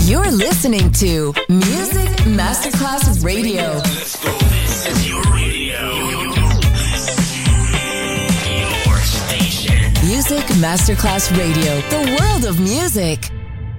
You're listening to Music Masterclass Radio. Let's go. This is your radio. Your station. Music Masterclass Radio. The world of music.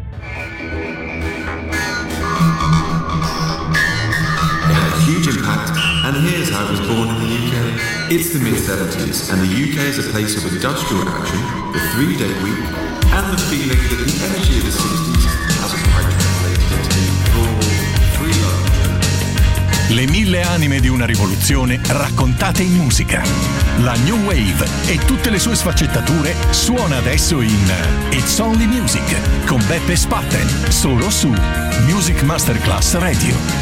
It had a huge impact, and here's how it was born in the UK. It's the mid-70s, and the UK is a place of industrial action, the 3-day week, and the feeling that the energy of the 60s hasn't quite translated into full freedom. Le 1000 anime di una rivoluzione raccontate in musica. La New Wave e tutte le sue sfaccettature suona adesso in It's Only Music con Beppe Spatten, solo su Music Masterclass Radio.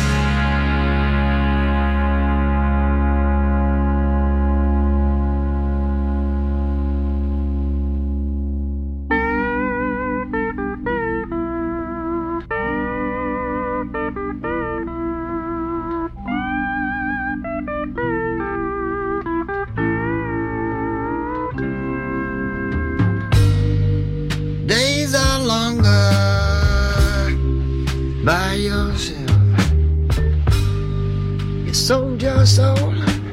Sold your soul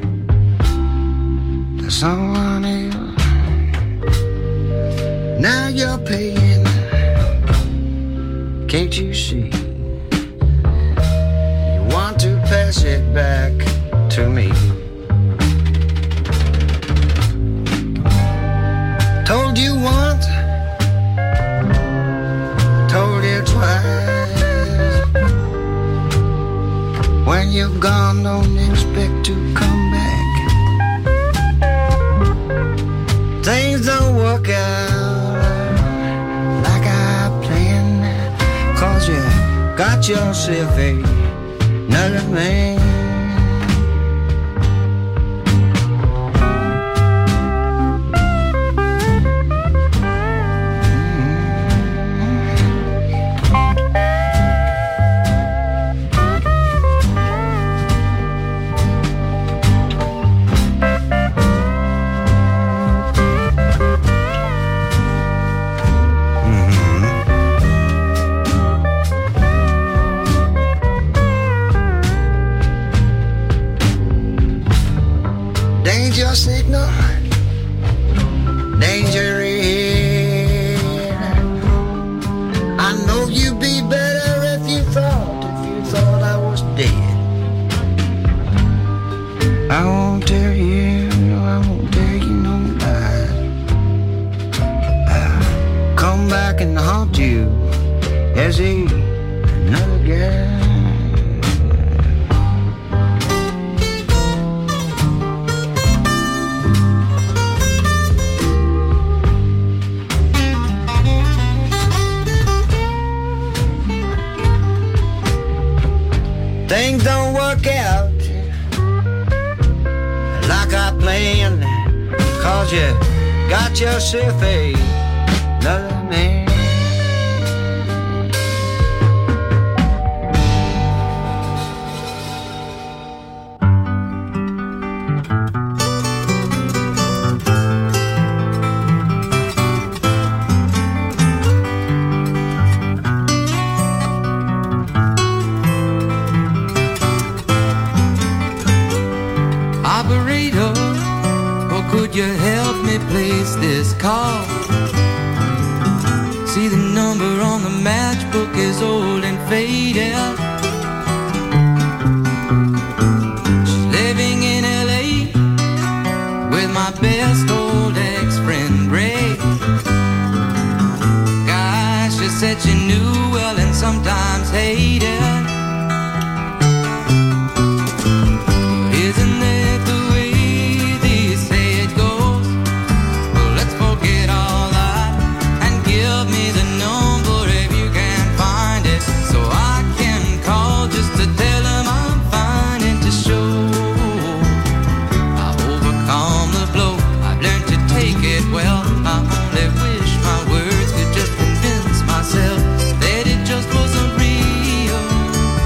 to someone else. Now you're paying. Can't you see? You want to pass it back to me. Told you once, told you twice. When you're gone, don't expect to come back. Things don't work out like I planned, 'cause you got yourself another man. Danger signal, danger ahead. I know you'd be better if you thought I was dead. I won't tell you, no, I won't tell you no lies. I'll come back and haunt you as another guy. Things don't work out like I planned, 'cause you got yourself another man. Operator, or could you help me place this call? See, the number on the matchbook is old and faded. She's living in LA with my best old ex-friend Ray. Gosh, she said she knew well and sometimes hated. That it just wasn't real.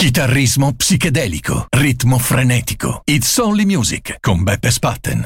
Chitarrismo psichedelico, ritmo frenetico. It's Only Music con Beppe Spatten.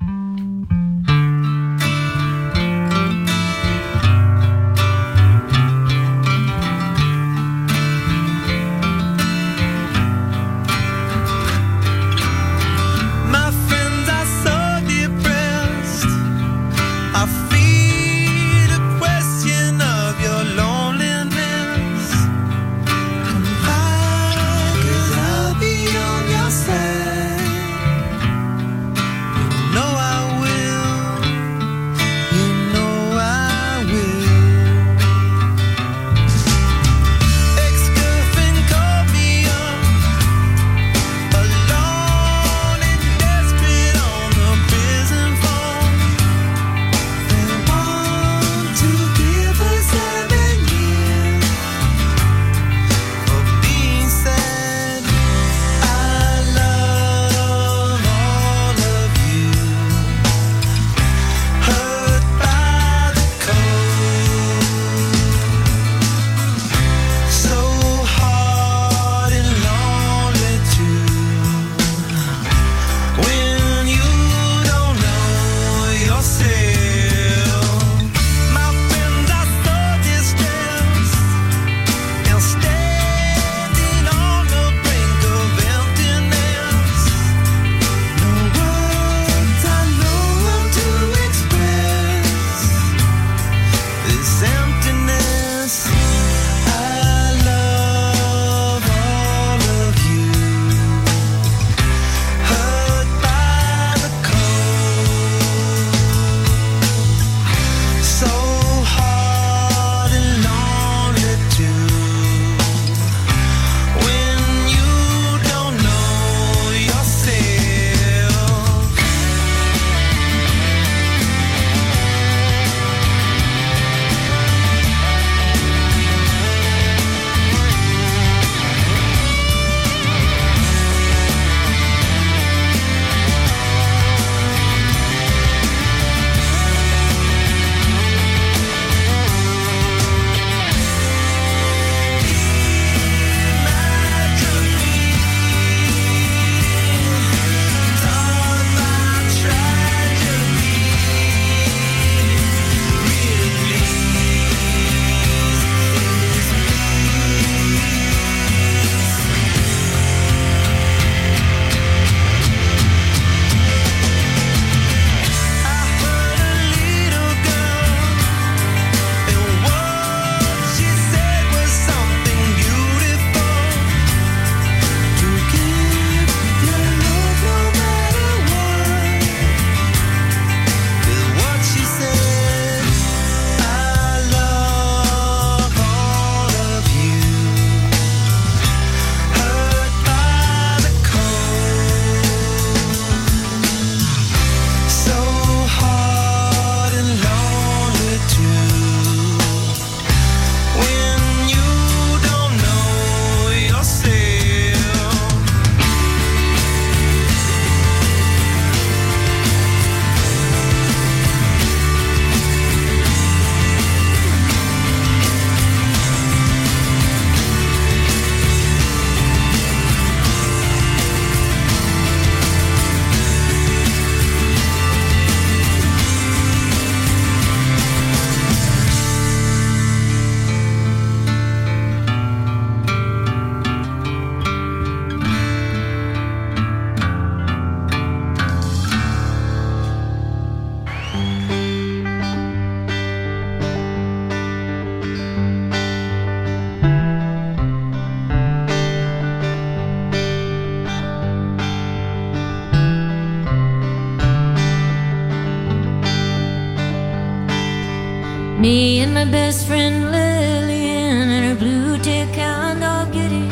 Me and my best friend Lillian and her blue tick hound dog Gideon,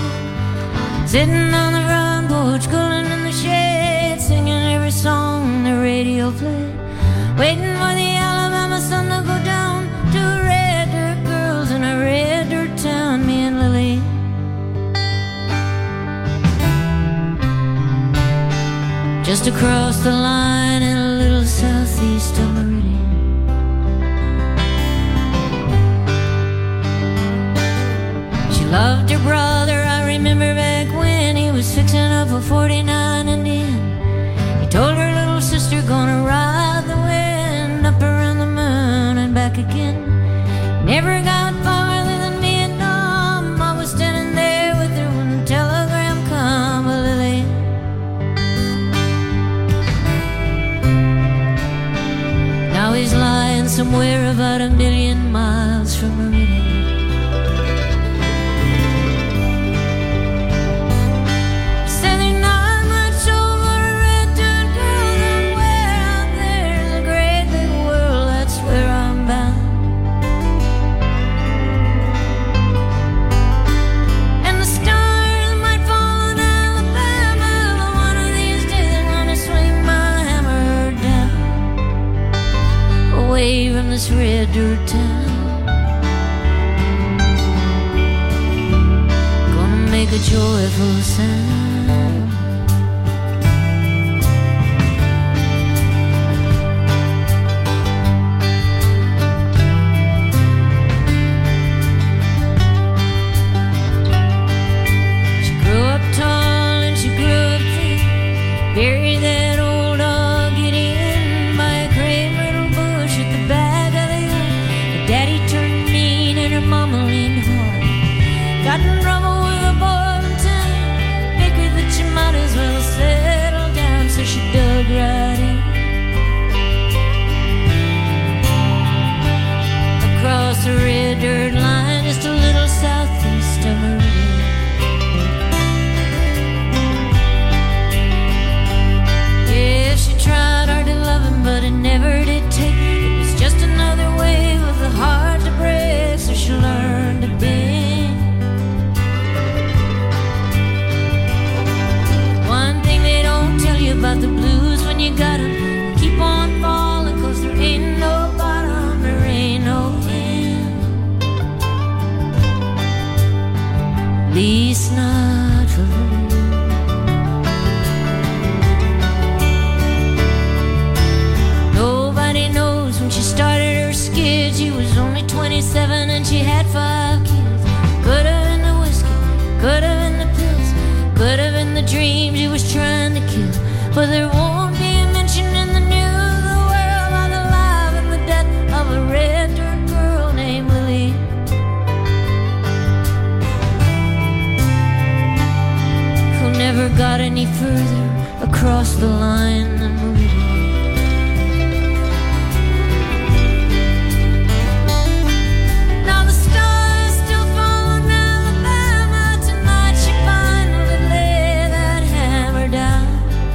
sitting on the front porch, cooling in the shade, singing every song the radio played, waiting for the Alabama sun to go down to red dirt girls in a red dirt town. Me and Lillian, just across the line in a little southeast of Meridian. She loved her brother, I remember back for 49 and in. He told her little sister, gonna ride the wind up around the moon and back again. Never got farther than Vietnam. I was standing there with her when the telegram come, Lily. Now he's lying somewhere about 1,000,000 miles from Meridian. From this red dirt town, gonna make a joyful sound. She grew up tall and she grew up thin, buried that old dog Gideon by a crave little bush at the back of the hill. Her daddy turned mean and her mama leaned hard. Got in trouble with a boy in town, figured that you might as well settle down, so she dug right in. Across the red dirt line, just a little southeast of Meridian. Yeah, she tried hard to love him, but it never did take. It was just another wave of the heart to break, so she learned to bend. One thing they don't tell you about the blues when you got 'em, keep on falling, 'cause there ain't no bottom, there ain't no end. Least not for me. Nobody knows when she started her skid. She was only 27 and she had 5 kids. Could have been the whiskey, could have been the pills, could have been the dreams she was trying to kill. But there won't be a mention in the news of the world about the life and the death of a red dirt girl named Lily. Who never got any further across the line than Meridian. Now the stars still fall on Alabama. Tonight she finally laid that hammer down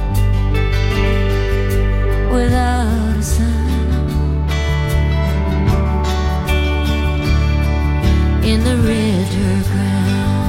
without a sound in the red dirt ground.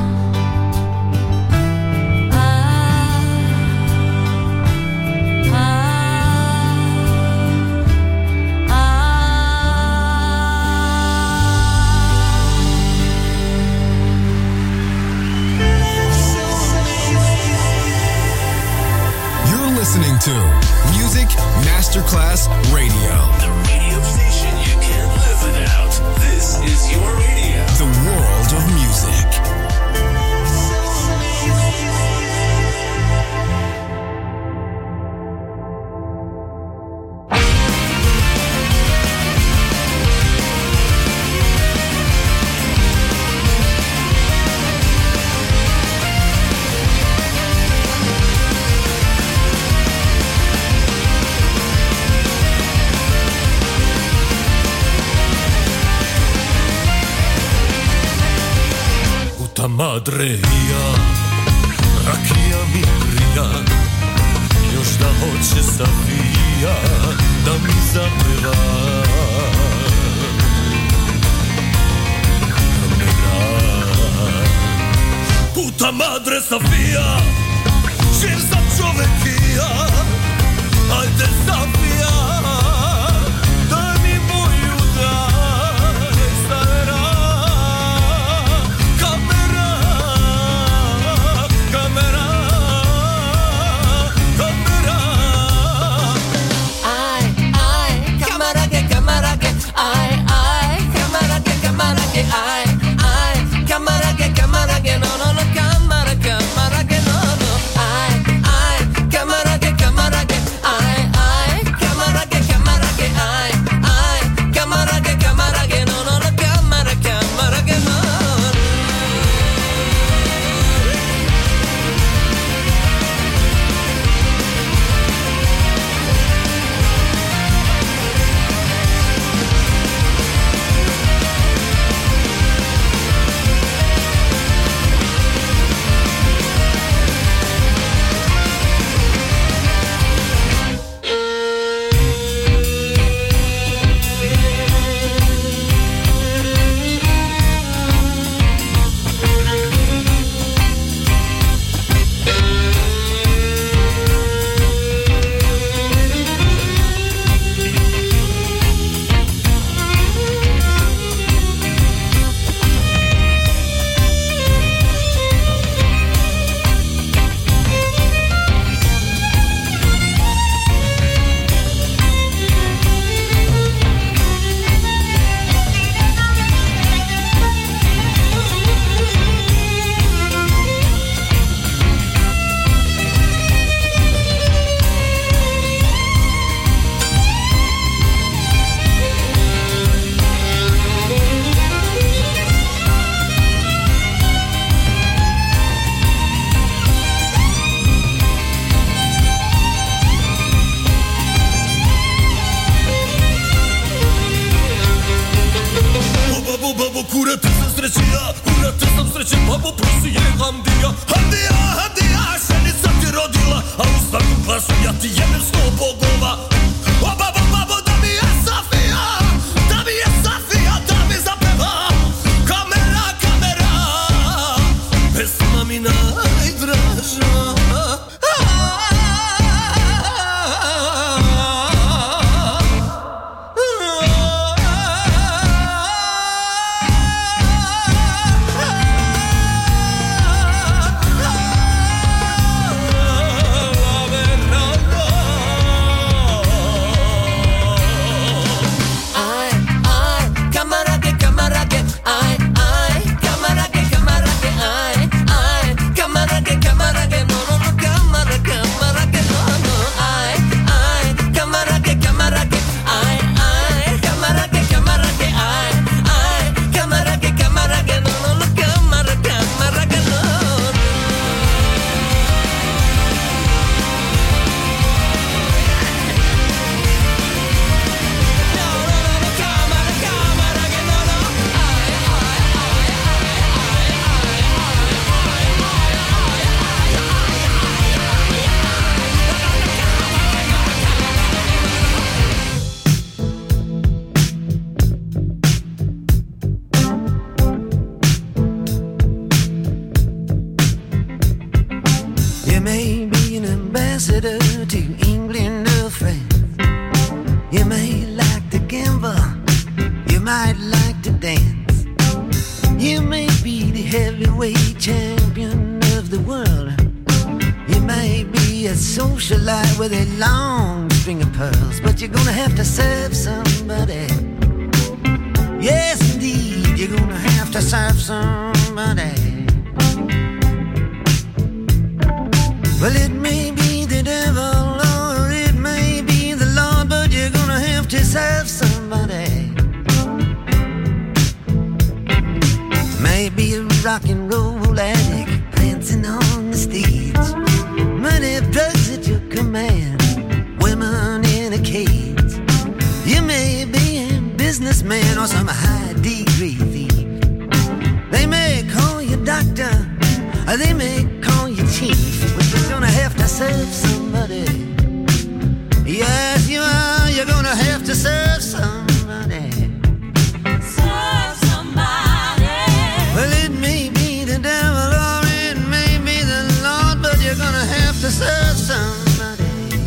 You're listening to Music Masterclass Radio. The radio station you can't live without. This is your radio. The world of music. Puta madre mia, rakija mi prija, još da hoće Safija da mi zapeva. Puta madre Safija, živ sam čovek i ja, ajde Safija, daj mi moju daj, stara. Kamera, kamera, kamera. Ay, ay, cámara que, ay, ay, cámara que, ay, ay, cámara que, no, no, no, cámara que, no, no, ay, Babo kurate sam sreće Babo prosi je Hamdija Šenica ti rodila A u svakom glasu ja ti jebem 100 bogova O babo da mi je Safija Da mi zapeva Kamera Pesma mi najdraža with a long string of pearls, but you're gonna have to serve somebody. Yes, indeed, you're gonna have to serve somebody. Well, it may be the devil or it may be the Lord, but you're gonna have to serve somebody. Maybe a rock and roll addict prancing on the stage, money, drugs at your command, women in a cage. You may be a businessman or some high degree thief. They may call you doctor, or they may call you chief, but you're gonna have to serve somebody. Yes, you are. You're gonna have to serve somebody. Serve somebody. Well, it may be the devil or it may be the Lord, but you're gonna have to serve somebody.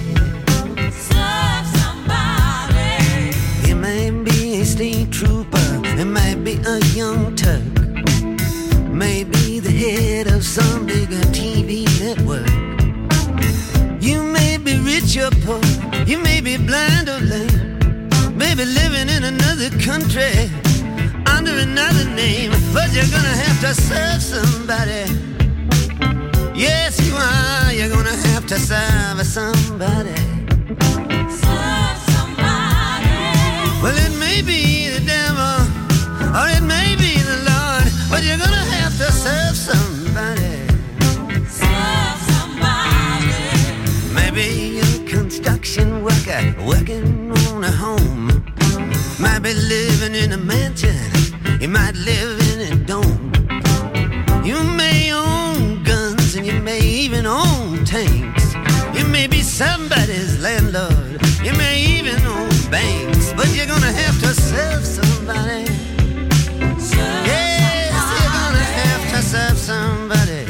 Serve somebody. It may be a state trooper, it might be a young Turk, maybe the head of some bigger TV network. You may be rich or poor, you may be blind or lame, maybe living in another country under another name, but you're gonna have to serve somebody. Yes, you are. You're gonna have to serve somebody. Serve somebody. Well, it may be the devil or it may be the Lord, but you're gonna have to serve somebody. Serve somebody. Maybe a construction worker working on a home, might be living in a mansion, you might live in a dome. You may own guns and you may even own tanks. You may be somebody's landlord, you may even own banks, but you're gonna have to serve somebody. Yes, you're gonna have to serve somebody.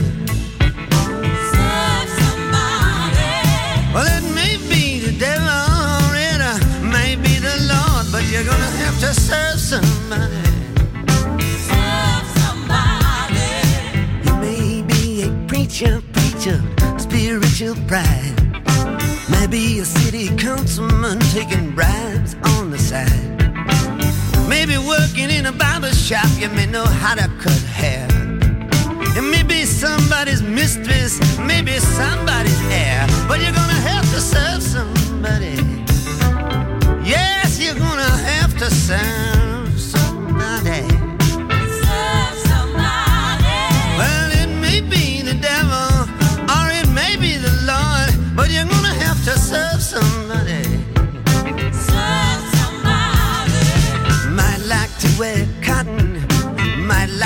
Serve somebody. Well, it may be the devil or it may be the Lord, but you're gonna have to serve somebody. Serve somebody. You may be a preacher, spiritual pride. Maybe a city councilman taking bribes on the side. Maybe working in a barber shop, you may know how to cut hair. And maybe somebody's mistress, maybe somebody's heir, but you're gonna have to serve somebody. Yes, you're gonna have to serve somebody. Serve somebody. Well, it may be the devil or it may be the Lord, but you're gonna have to serve somebody. Serve somebody. Might like to wear cotton,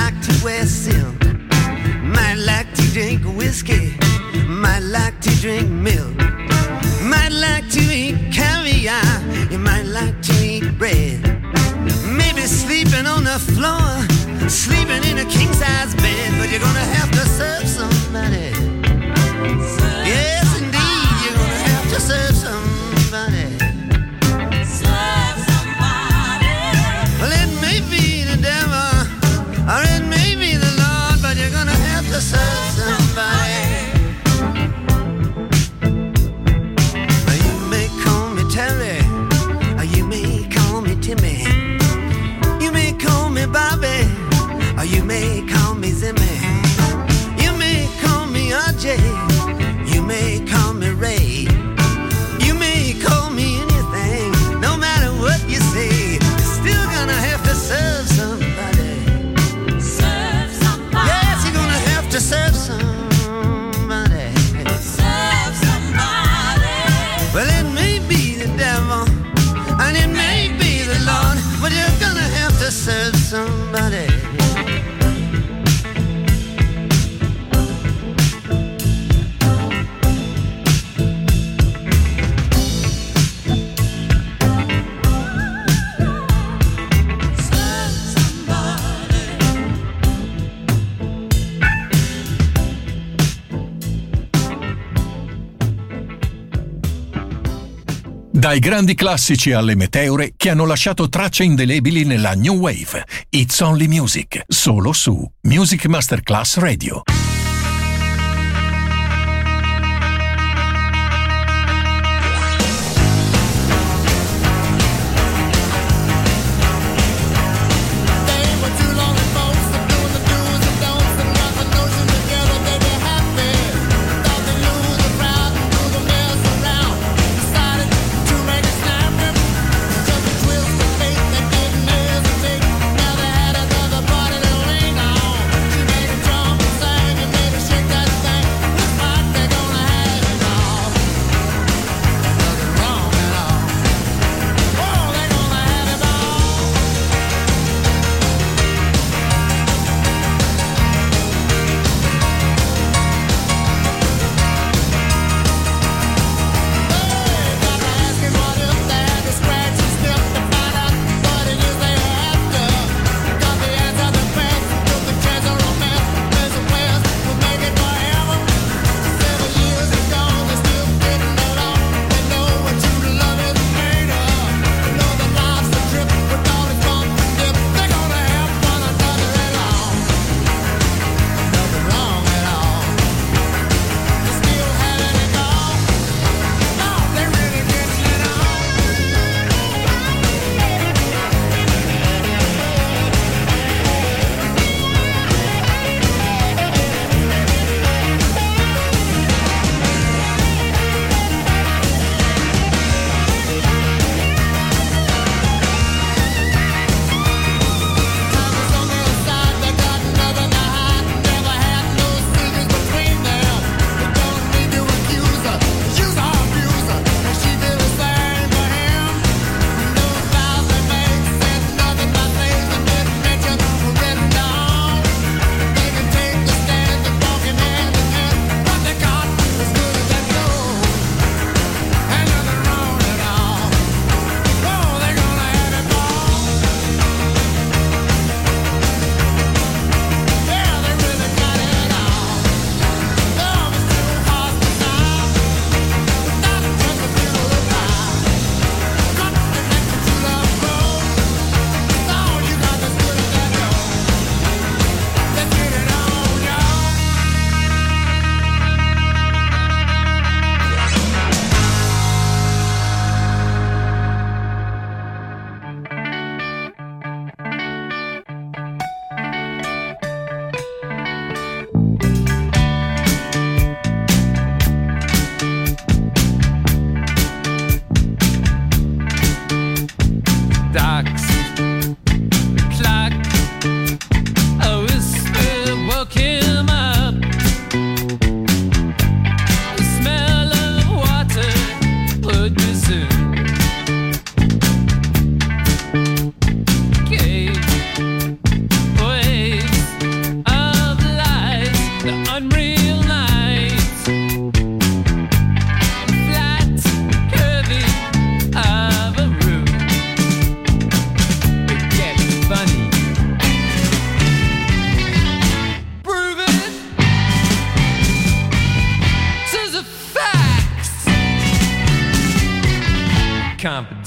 like to wear silk, might like to drink whiskey, might like to drink milk, might like to eat caviar, you might like to eat bread, maybe sleeping on the floor, sleeping in a king-size bed, but you're gonna have to serve somebody. Yes, indeed, you're gonna have to serve somebody. Serve somebody. Well, it may be the devil, or it may be the Lord, but you're gonna have to serve somebody. You may call me Terry, or you may call me Timmy. You may call me Bobby, or you may call me Zimmy. You may call me RJ, you may call me Ray. You may call me anything, no matter what you say, you're still gonna have to serve somebody. Serve somebody. Yes, you're gonna have to serve somebody. Serve somebody. Well, it may be the devil, and it may be the Lord, but you're gonna have to serve somebody. Dai grandi classici alle meteore che hanno lasciato tracce indelebili nella New Wave. It's Only Music, solo su Music Masterclass Radio. Now they had another party to linger on. She made a drum and sang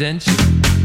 confidential.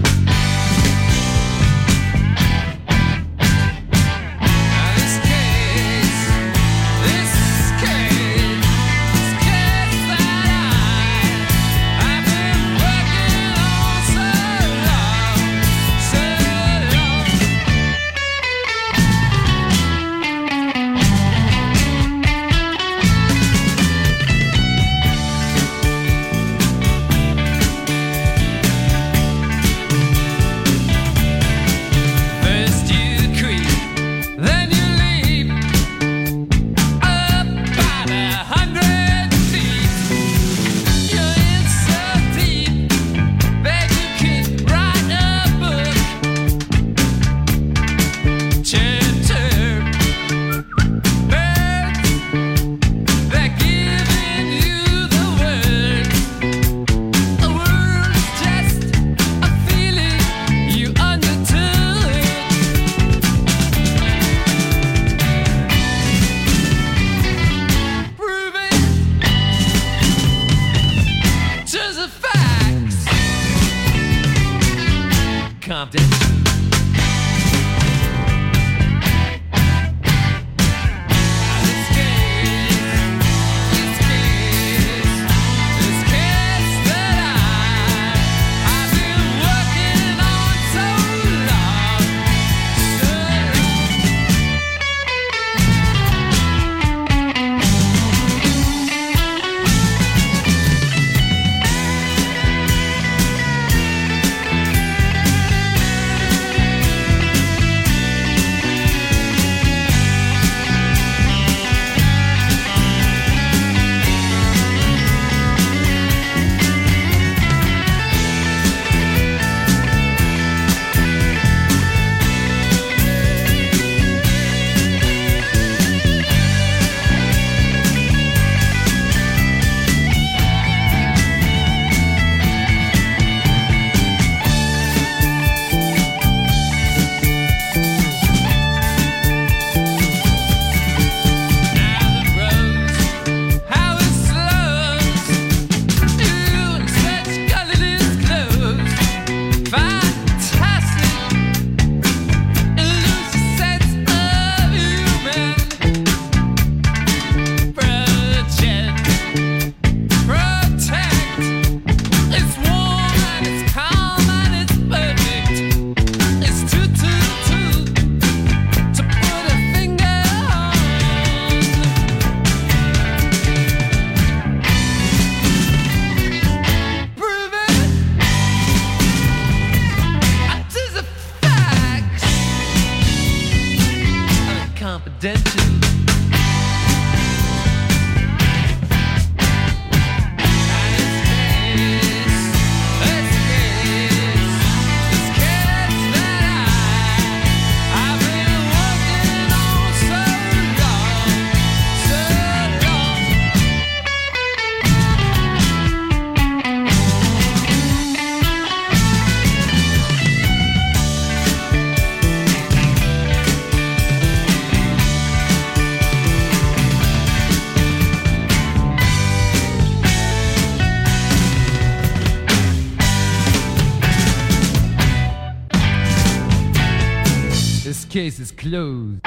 Case is closed.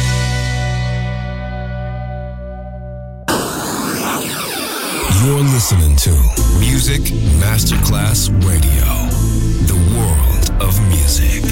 You're listening to Music Masterclass Radio, the world of music.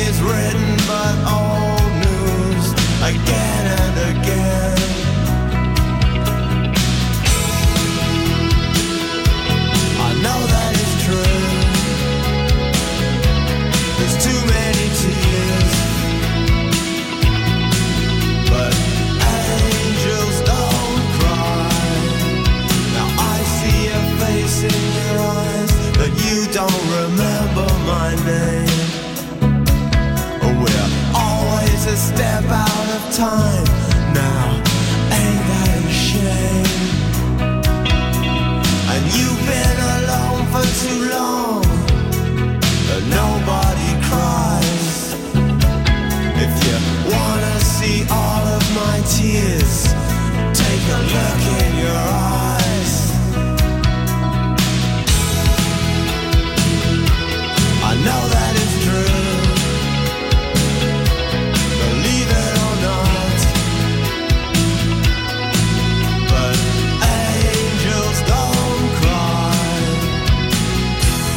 is written but old news again and again. I know that it's true. There's too many tears, but angels don't cry. Now I see a face in your eyes, but you don't remember my name. We're always a step out of time now, ain't that a shame? And you've been alone for too long, but nobody cries. If you wanna see all of my tears, take a look in your eyes. I know that it's true, believe it or not, but angels don't cry.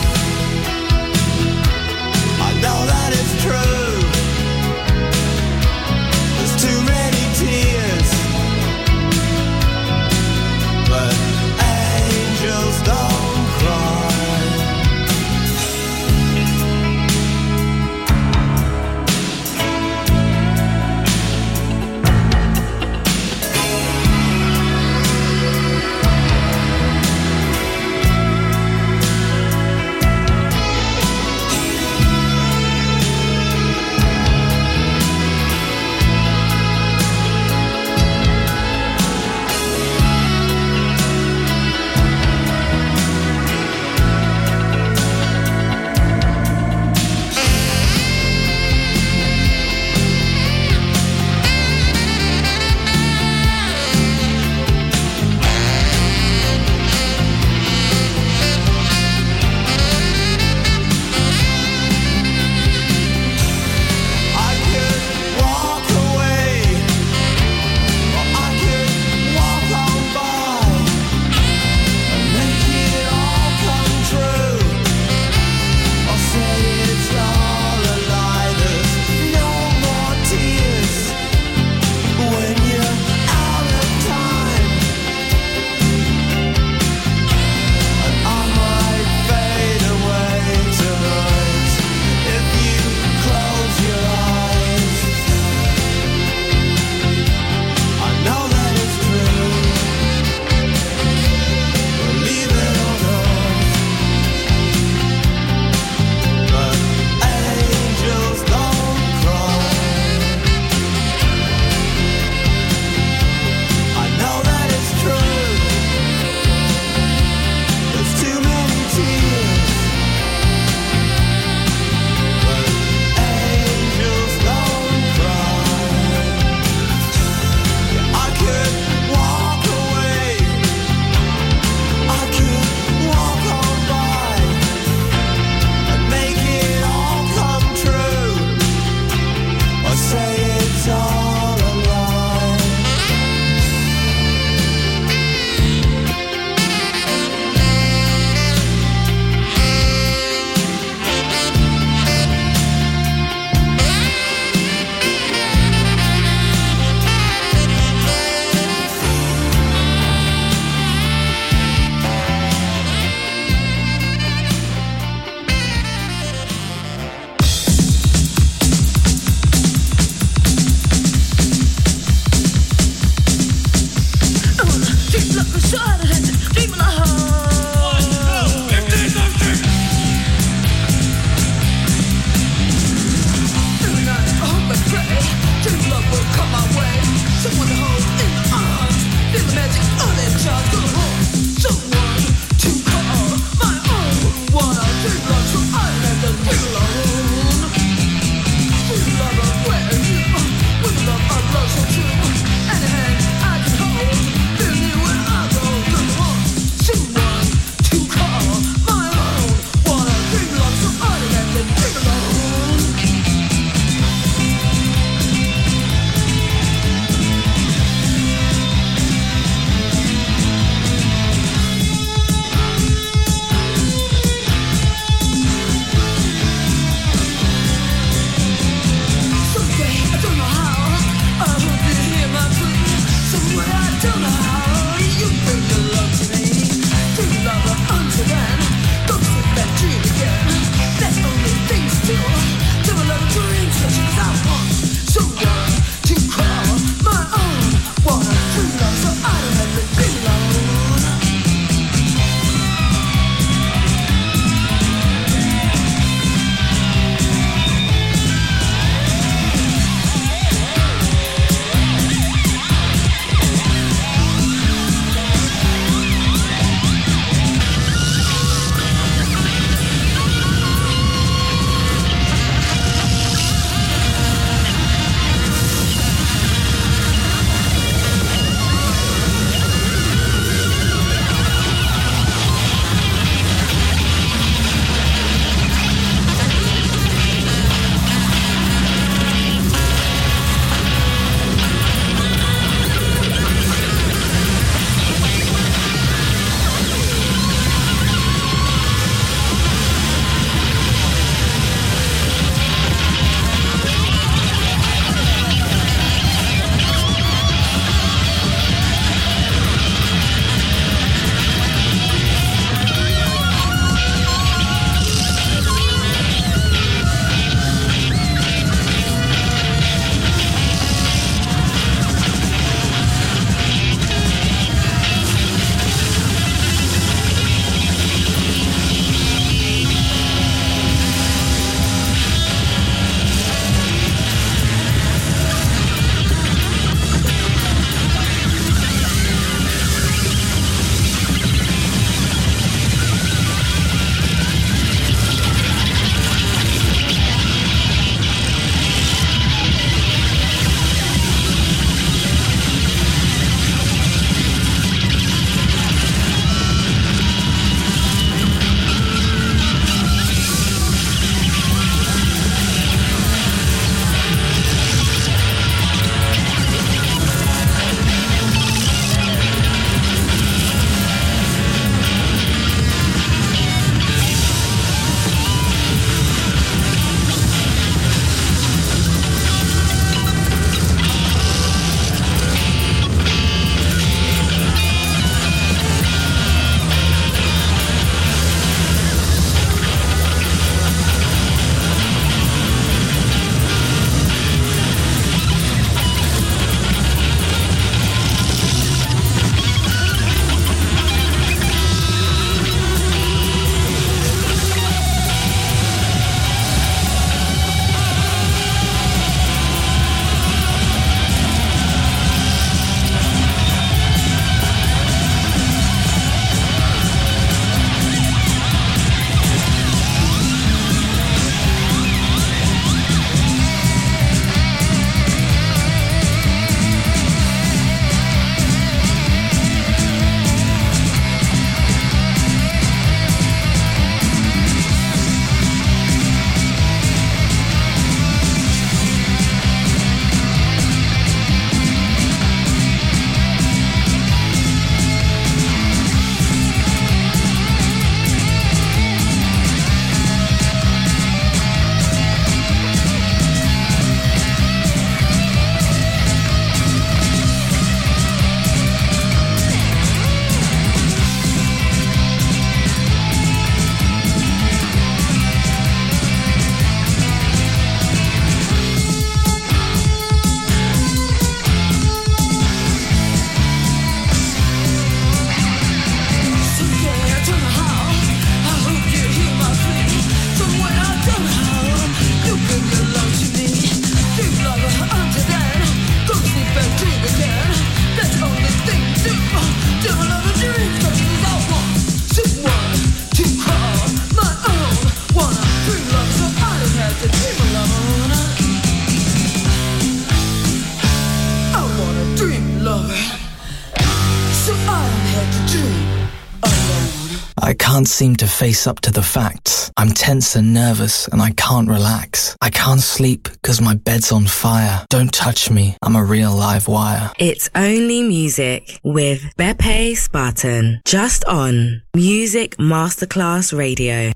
I can't seem to face up to the facts. I'm tense and nervous and I can't relax. I can't sleep because my bed's on fire. Don't touch me, I'm a real live wire. It's Only Music with Beppe Spartan, just on Music Masterclass Radio.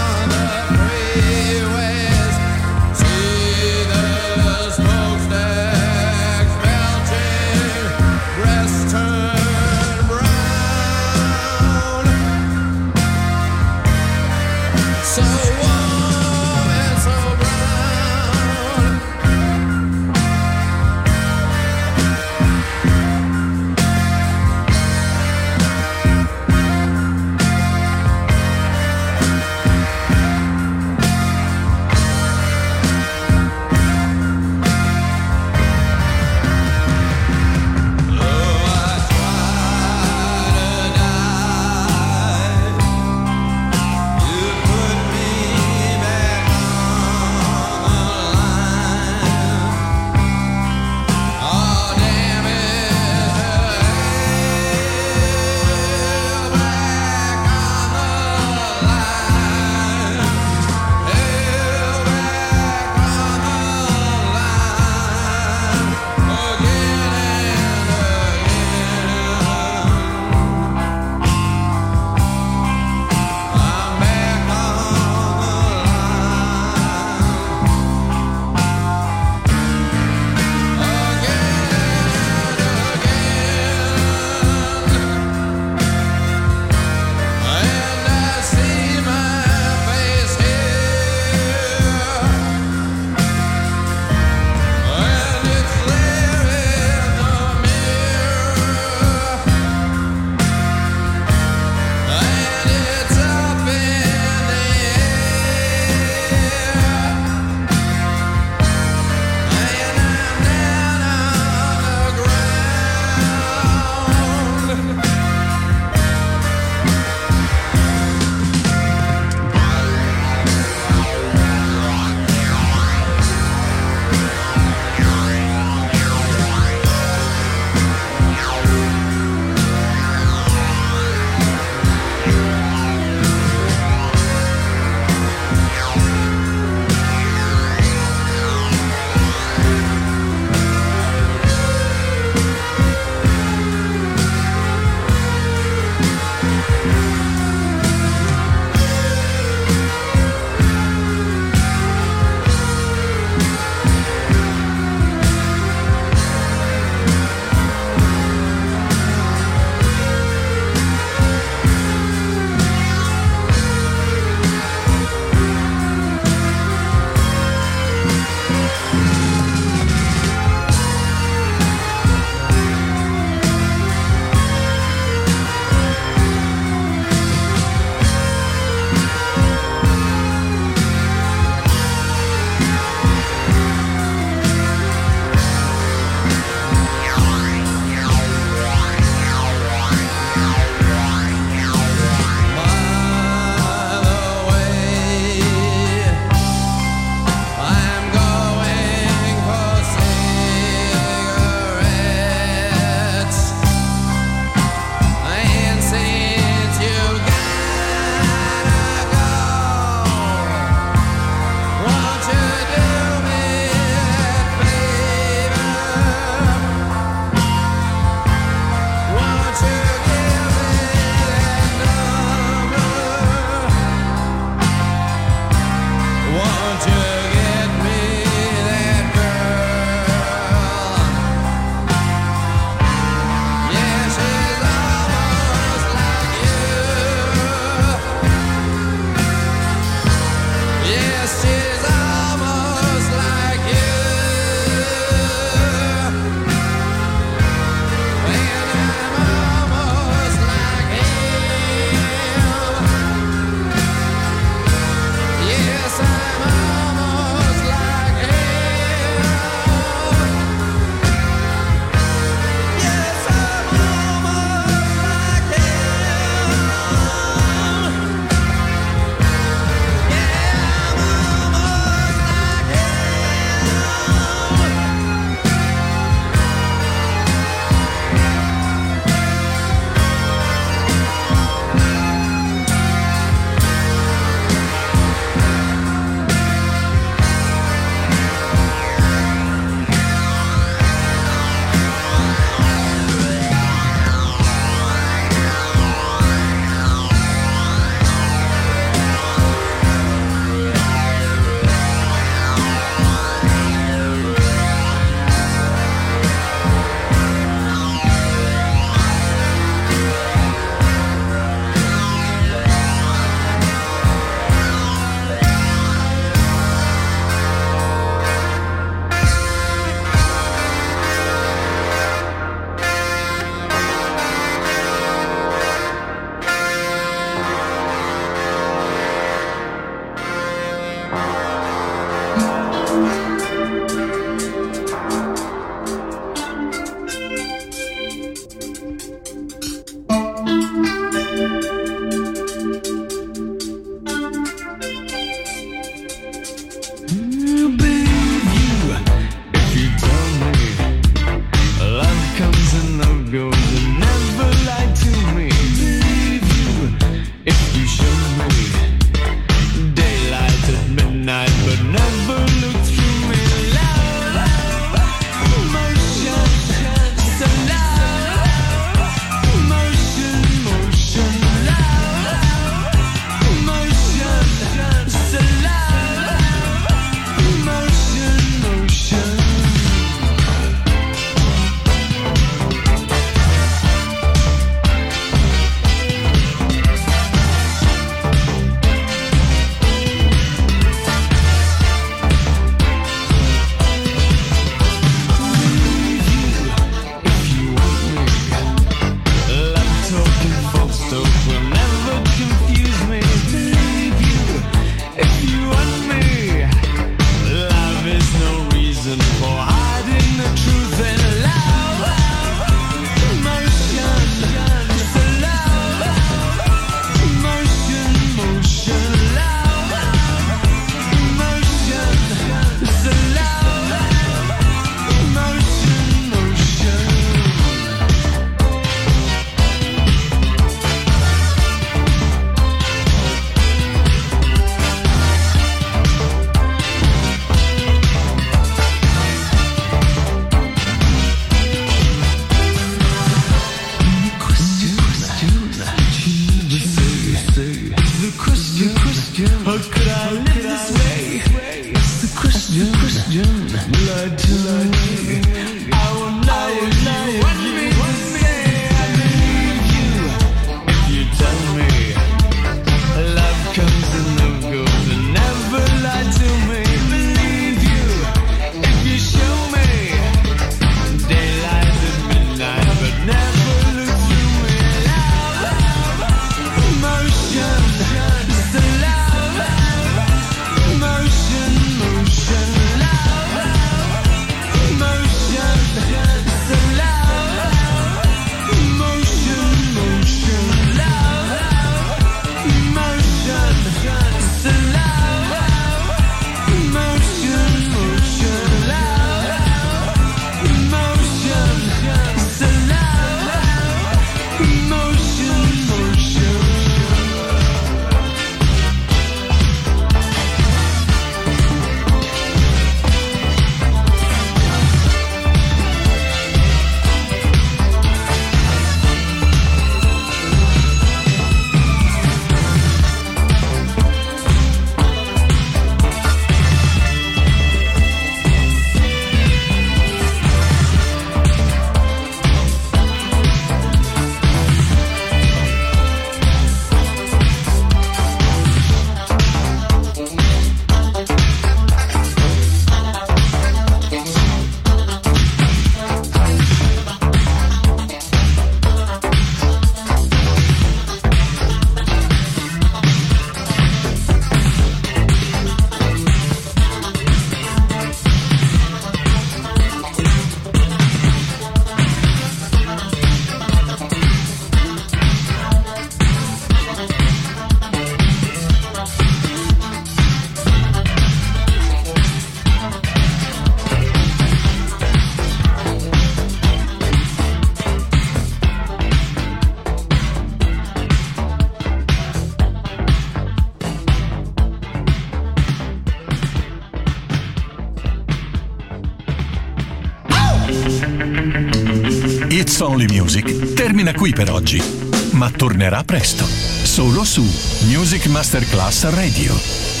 It's Only Music termina qui per oggi, ma tornerà presto, solo su Music Masterclass Radio.